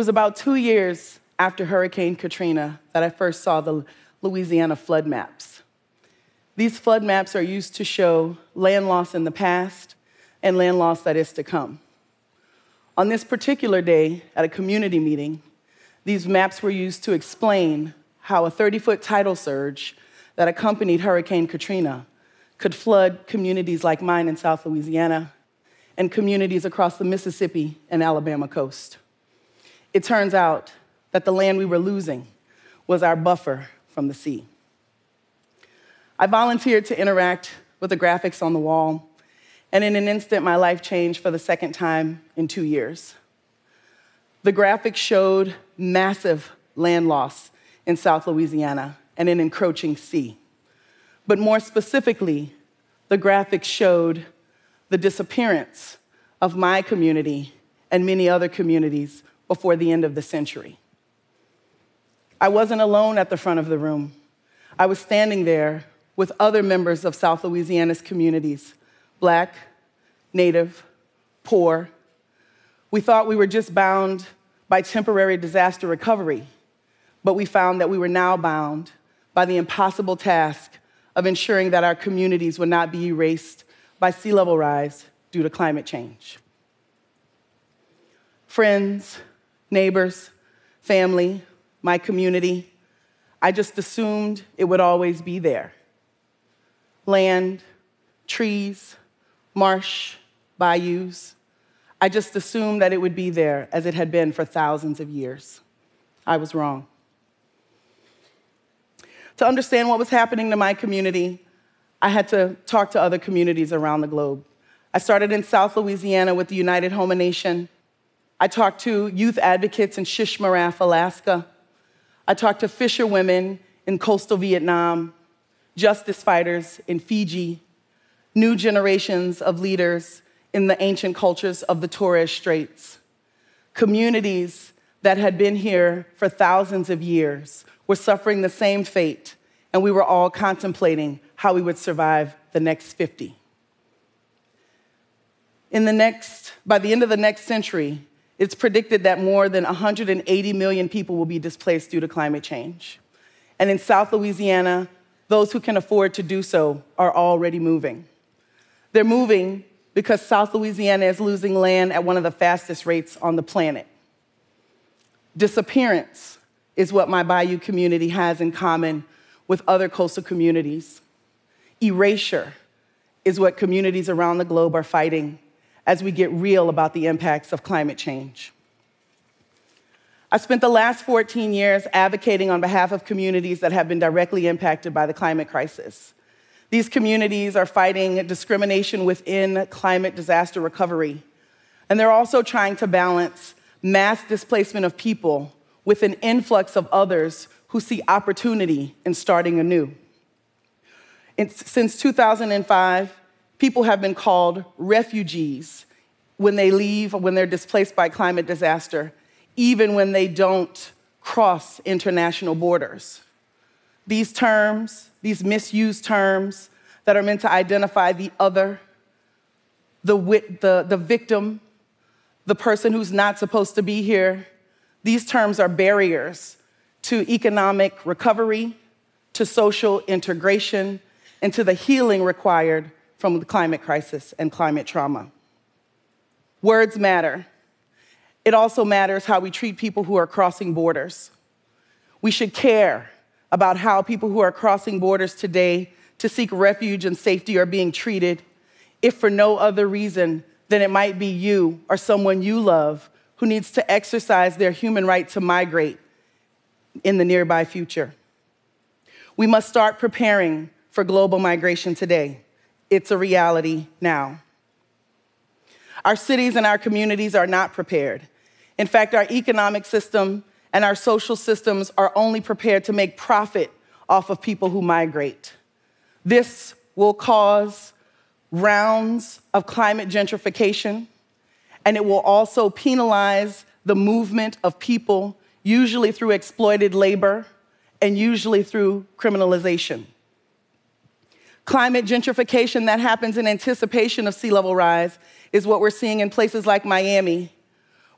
was about 2 years after Hurricane Katrina that I first saw the Louisiana flood maps. These flood maps are used to show land loss in the past and land loss that is to come. On this particular day, at a community meeting, these maps were used to explain how a 30-foot tidal surge that accompanied Hurricane Katrina could flood communities like mine in South Louisiana and communities across the Mississippi and Alabama coast. It turns out that the land we were losing was our buffer from the sea. I volunteered to interact with the graphics on the wall, and in an instant, my life changed for the second time in 2 years. The graphics showed massive land loss in South Louisiana and an encroaching sea. But more specifically, the graphics showed the disappearance of my community and many other communities before the end of the century. I wasn't alone at the front of the room. I was standing there with other members of South Louisiana's communities, Black, Native, poor. We thought we were just bound by temporary disaster recovery, but we found that we were now bound by the impossible task of ensuring that our communities would not be erased by sea level rise due to climate change. Friends, neighbors, family, my community, I just assumed it would always be there. Land, trees, marsh, bayous. I just assumed that it would be there as it had been for thousands of years. I was wrong. To understand what was happening to my community, I had to talk to other communities around the globe. I started in South Louisiana with the United Homa Nation. I talked to youth advocates in Shishmaref, Alaska. I talked to fisherwomen in coastal Vietnam, justice fighters in Fiji, new generations of leaders in the ancient cultures of the Torres Straits. Communities that had been here for thousands of years were suffering the same fate, and we were all contemplating how we would survive the next 50. By the end of the next century, it's predicted that more than 180 million people will be displaced due to climate change. And in South Louisiana, those who can afford to do so are already moving. They're moving because South Louisiana is losing land at one of the fastest rates on the planet. Disappearance is what my Bayou community has in common with other coastal communities. Erasure is what communities around the globe are fighting as we get real about the impacts of climate change. I spent the last 14 years advocating on behalf of communities that have been directly impacted by the climate crisis. These communities are fighting discrimination within climate disaster recovery, and they're also trying to balance mass displacement of people with an influx of others who see opportunity in starting anew. Since 2005, people have been called refugees when they leave or when they're displaced by climate disaster, even when they don't cross international borders. These terms, these misused terms that are meant to identify the other, the victim, the person who's not supposed to be here, these terms are barriers to economic recovery, to social integration, and to the healing required from the climate crisis and climate trauma. Words matter. It also matters how we treat people who are crossing borders. We should care about how people who are crossing borders today to seek refuge and safety are being treated, if for no other reason than it might be you or someone you love who needs to exercise their human right to migrate in the nearby future. We must start preparing for global migration today. It's a reality now. Our cities and our communities are not prepared. In fact, our economic system and our social systems are only prepared to make profit off of people who migrate. This will cause rounds of climate gentrification, and it will also penalize the movement of people, usually through exploited labor and usually through criminalization. Climate gentrification that happens in anticipation of sea level rise is what we're seeing in places like Miami,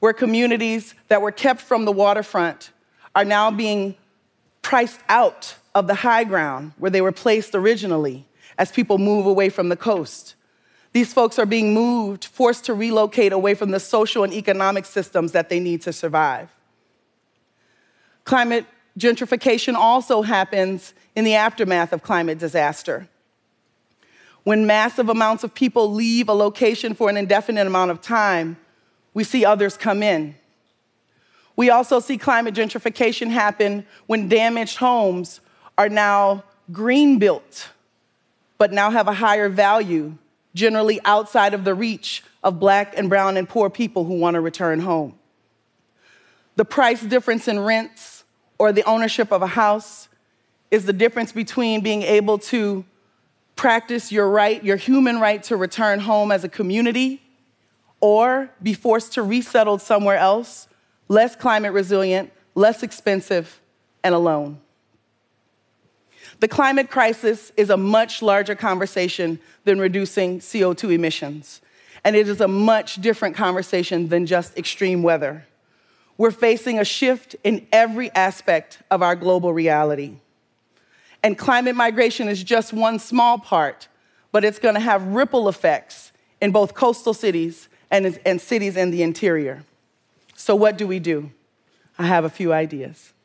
where communities that were kept from the waterfront are now being priced out of the high ground where they were placed originally as people move away from the coast. These folks are being moved, forced to relocate away from the social and economic systems that they need to survive. Climate gentrification also happens in the aftermath of climate disaster. When massive amounts of people leave a location for an indefinite amount of time, we see others come in. We also see climate gentrification happen when damaged homes are now green built, but now have a higher value, generally outside of the reach of Black and brown and poor people who want to return home. The price difference in rents or the ownership of a house is the difference between being able to practice your right, your human right to return home as a community, or be forced to resettle somewhere else, less climate resilient, less expensive, and alone. The climate crisis is a much larger conversation than reducing CO2 emissions, and it is a much different conversation than just extreme weather. We're facing a shift in every aspect of our global reality. And climate migration is just one small part, but it's going to have ripple effects in both coastal cities and cities in the interior. So what do we do? I have a few ideas.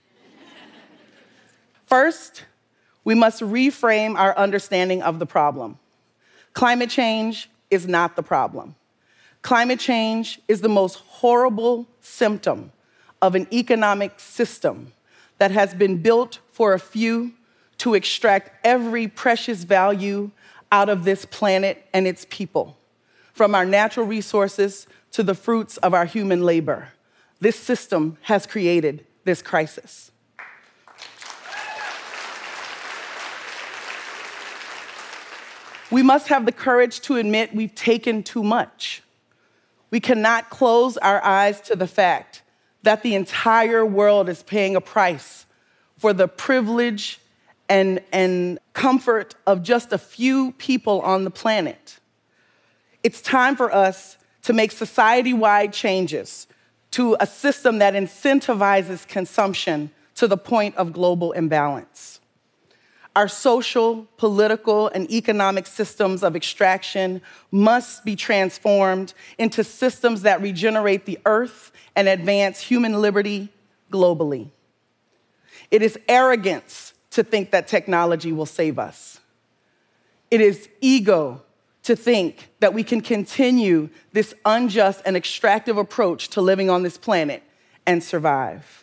First, we must reframe our understanding of the problem. Climate change is not the problem. Climate change is the most horrible symptom of an economic system that has been built for a few to extract every precious value out of this planet and its people, from our natural resources to the fruits of our human labor. This system has created this crisis. We must have the courage to admit we've taken too much. We cannot close our eyes to the fact that the entire world is paying a price for the privilege and comfort of just a few people on the planet. It's time for us to make society-wide changes to a system that incentivizes consumption to the point of global imbalance. Our social, political, and economic systems of extraction must be transformed into systems that regenerate the earth and advance human liberty globally. It is arrogance to think that technology will save us. It is ego to think that we can continue this unjust and extractive approach to living on this planet and survive.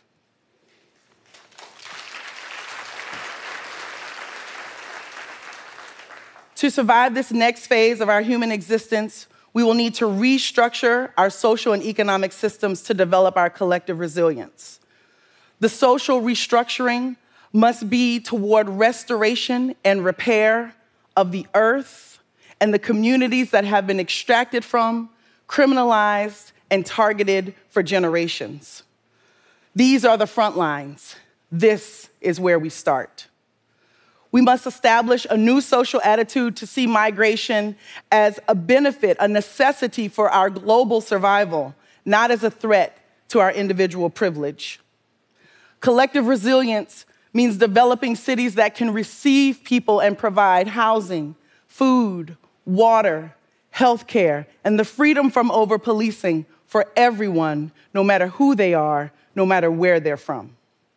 To survive this next phase of our human existence, we will need to restructure our social and economic systems to develop our collective resilience. The social restructuring must be toward restoration and repair of the earth and the communities that have been extracted from, criminalized, and targeted for generations. These are the front lines. This is where we start. We must establish a new social attitude to see migration as a benefit, a necessity for our global survival, not as a threat to our individual privilege. Collective resilience means developing cities that can receive people and provide housing, food, water, healthcare, and the freedom from over-policing for everyone, no matter who they are, no matter where they're from.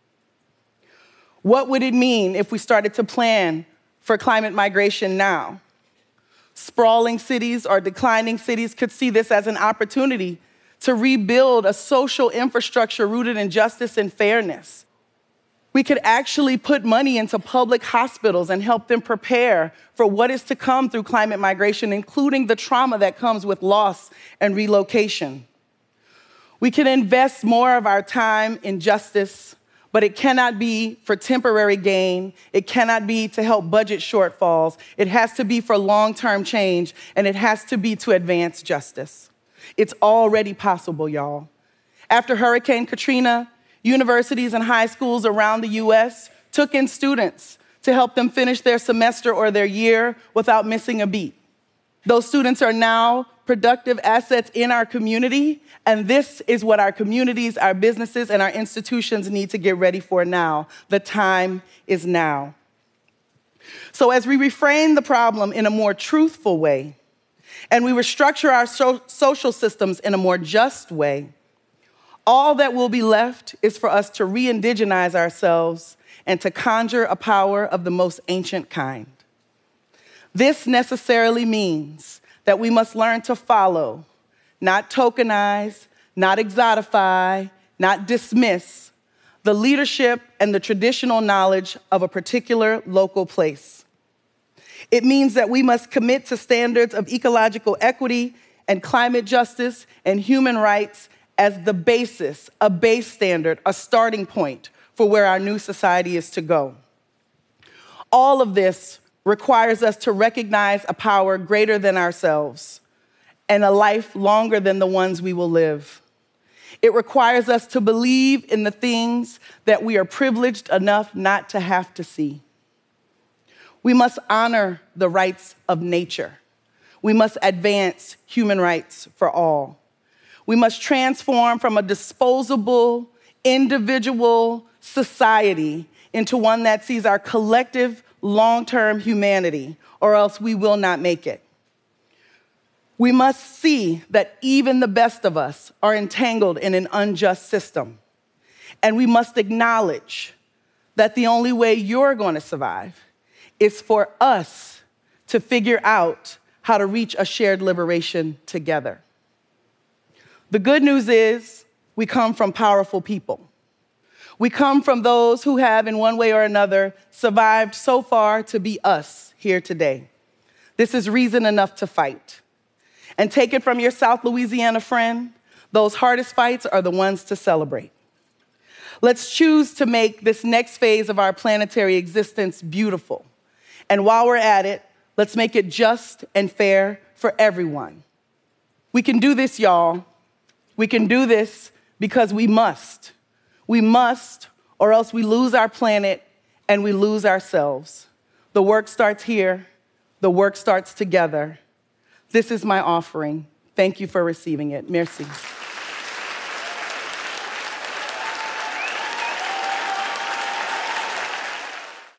What would it mean if we started to plan for climate migration now? Sprawling cities or declining cities could see this as an opportunity to rebuild a social infrastructure rooted in justice and fairness. We could actually put money into public hospitals and help them prepare for what is to come through climate migration, including the trauma that comes with loss and relocation. We can invest more of our time in justice, but it cannot be for temporary gain. It cannot be to help budget shortfalls. It has to be for long-term change, and it has to be to advance justice. It's already possible, y'all. After Hurricane Katrina, universities and high schools around the US took in students to help them finish their semester or their year without missing a beat. Those students are now productive assets in our community, and this is what our communities, our businesses, and our institutions need to get ready for now. The time is now. So as we reframe the problem in a more truthful way, and we restructure our social systems in a more just way, all that will be left is for us to re-indigenize ourselves and to conjure a power of the most ancient kind. This necessarily means that we must learn to follow, not tokenize, not exotify, not dismiss the leadership and the traditional knowledge of a particular local place. It means that we must commit to standards of ecological equity and climate justice and human rights as the basis, a base standard, a starting point for where our new society is to go. All of this requires us to recognize a power greater than ourselves and a life longer than the ones we will live. It requires us to believe in the things that we are privileged enough not to have to see. We must honor the rights of nature. We must advance human rights for all. We must transform from a disposable, individual society into one that sees our collective long-term humanity, or else we will not make it. We must see that even the best of us are entangled in an unjust system. And we must acknowledge that the only way you're going to survive is for us to figure out how to reach a shared liberation together. The good news is we come from powerful people. We come from those who have, in one way or another, survived so far to be us here today. This is reason enough to fight. And take it from your South Louisiana friend, those hardest fights are the ones to celebrate. Let's choose to make this next phase of our planetary existence beautiful. And while we're at it, let's make it just and fair for everyone. We can do this, y'all. We can do this because we must. We must, or else we lose our planet and we lose ourselves. The work starts here. The work starts together. This is my offering. Thank you for receiving it. Merci.